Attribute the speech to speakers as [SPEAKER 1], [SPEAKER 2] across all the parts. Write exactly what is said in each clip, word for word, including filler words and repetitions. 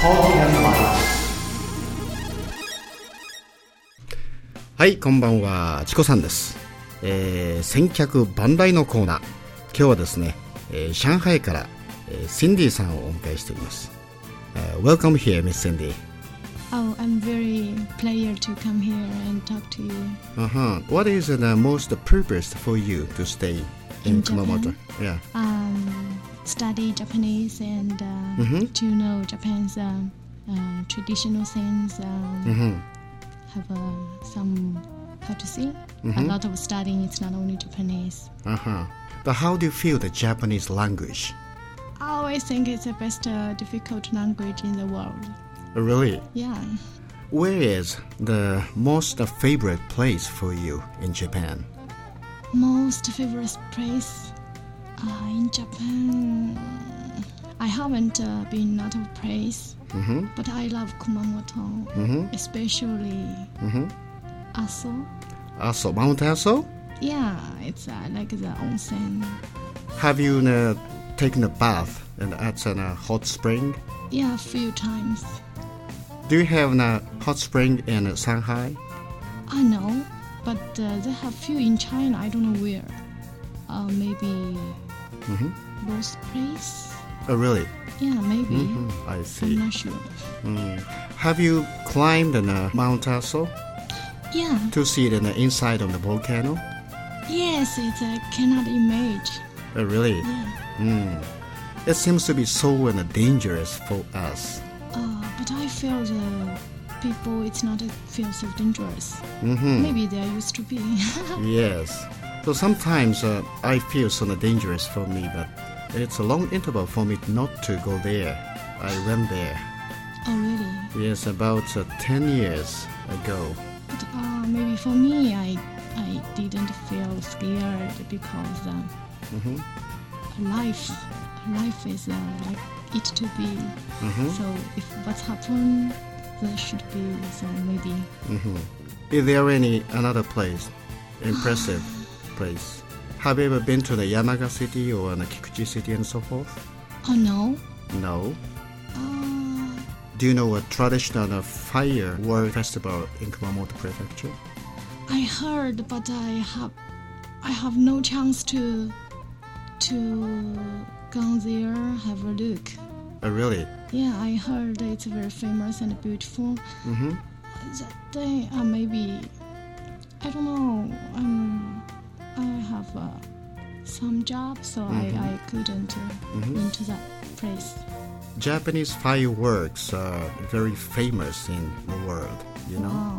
[SPEAKER 1] はい、こんばんは、チコさんです。えー、先客万来のコーナー。今日はですね、えー、上海から、えー、シンディさんをお迎えしております。Uh, welcome here, Miss Cindy.Oh,
[SPEAKER 2] I'm very pleased to come here and talk to you.
[SPEAKER 1] Uh-huh. What is the most purpose for you to stay in, in Kumamoto?
[SPEAKER 2] Yeah. Um, study Japanese and uh, mm-hmm. to know Japan's uh, uh, traditional things. Um, mm-hmm. Have uh, some, how to say, mm-hmm. a lot of studying. It's not only Japanese.
[SPEAKER 1] Uh-huh. But how do you feel the Japanese language?I
[SPEAKER 2] always think it's the best uh, difficult language in the world.
[SPEAKER 1] Really?
[SPEAKER 2] Yeah.
[SPEAKER 1] Where is the most favorite place for you in Japan?
[SPEAKER 2] Most favorite place uh, in Japan? I haven't uh, been out of place, mm-hmm. but I love Kumamoto, mm-hmm. especially mm-hmm. Aso.
[SPEAKER 1] Aso, Mount Aso?
[SPEAKER 2] Yeah, it's uh, like the onsen.
[SPEAKER 1] Have you uh,taken a bath and at a hot spring?
[SPEAKER 2] Yeah, a few times.
[SPEAKER 1] Do you have a hot spring in Shanghai?
[SPEAKER 2] I know, but uh, they have few in China. I don't know where. Uh, maybe mm-hmm. Lost Place?
[SPEAKER 1] Oh, really?
[SPEAKER 2] Yeah, maybe.
[SPEAKER 1] Mm-hmm. I see.
[SPEAKER 2] I'm not sure.
[SPEAKER 1] Mm. Have you climbed on uh, Mount Aso?
[SPEAKER 2] Yeah.
[SPEAKER 1] To see it in the inside of the volcano?
[SPEAKER 2] Yes, it's a cannot image.Oh,
[SPEAKER 1] really?
[SPEAKER 2] Yeah.
[SPEAKER 1] Mm. It seems to be so uh, dangerous for us.
[SPEAKER 2] Uh, but I feel the people, it's not feel so dangerous.
[SPEAKER 1] Mm-hmm.
[SPEAKER 2] Maybe they used to be.
[SPEAKER 1] Yes. So sometimes uh, I feel so dangerous for me, but it's a long interval for me not to go there. I went there.
[SPEAKER 2] Oh, really?
[SPEAKER 1] Yes, about uh, ten years ago.
[SPEAKER 2] But uh, maybe for me, I, I didn't feel scared because... Uh, mm-hmm.Life, life is uh, like it to be. Mm-hmm. So if what's happened, there should be. So maybe.
[SPEAKER 1] Mm-hmm. Is there any another place, impressive place? Have you ever been to the Yamaga City or the Kikuchi City and so forth?
[SPEAKER 2] Oh no.
[SPEAKER 1] No.
[SPEAKER 2] Uh,
[SPEAKER 1] Do you know a traditional firework festival in Kumamoto Prefecture?
[SPEAKER 2] I heard, but I have, I have no chance to. To go there, have a look.
[SPEAKER 1] Oh, really?
[SPEAKER 2] Yeah, I heard it's very famous and beautiful.
[SPEAKER 1] Mm-hmm.
[SPEAKER 2] That day, uh, maybe, I don't know, um, I have uh, some job, so mm-hmm. I, I couldn't uh, mm-hmm. into that place.
[SPEAKER 1] Japanese fireworks are very famous in the world, you know?
[SPEAKER 2] Wow.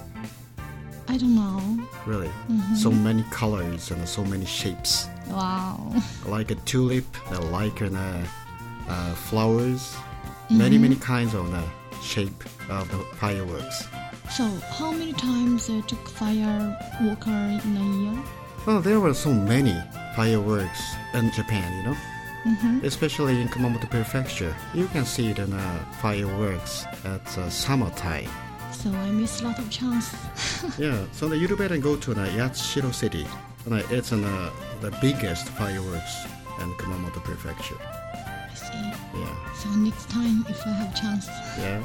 [SPEAKER 2] I don't know.
[SPEAKER 1] Really?
[SPEAKER 2] Mm-hmm.
[SPEAKER 1] So many colors and so many shapes.
[SPEAKER 2] Wow.
[SPEAKER 1] Like a tulip, like an, uh, uh, flowers, mm-hmm. many, many kinds of the shape of the fireworks.
[SPEAKER 2] So, how many times uh, took fireworker in a year?
[SPEAKER 1] Well, there were so many fireworks in Japan, you know? Mm-hmm. Especially in Kumamoto Prefecture. You can see it in uh, fireworks at uh, summertime.So
[SPEAKER 2] I missed a lot of chance.
[SPEAKER 1] Yeah, so you better go to the Yatsushiro City. It's uh, the biggest fireworks in Kumamoto Prefecture.
[SPEAKER 2] I see.
[SPEAKER 1] Yeah.
[SPEAKER 2] So next time, if I have chance.
[SPEAKER 1] Yeah.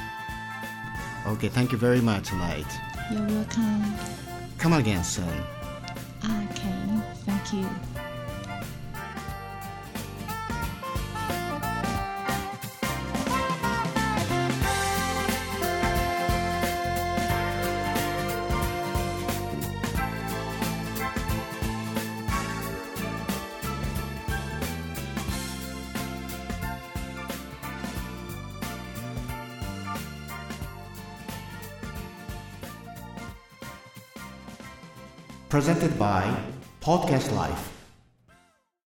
[SPEAKER 1] Okay, thank you very much, Light.
[SPEAKER 2] You're welcome.
[SPEAKER 1] Come again soon.
[SPEAKER 2] Okay, thank you.
[SPEAKER 1] Presented by Podcast Life.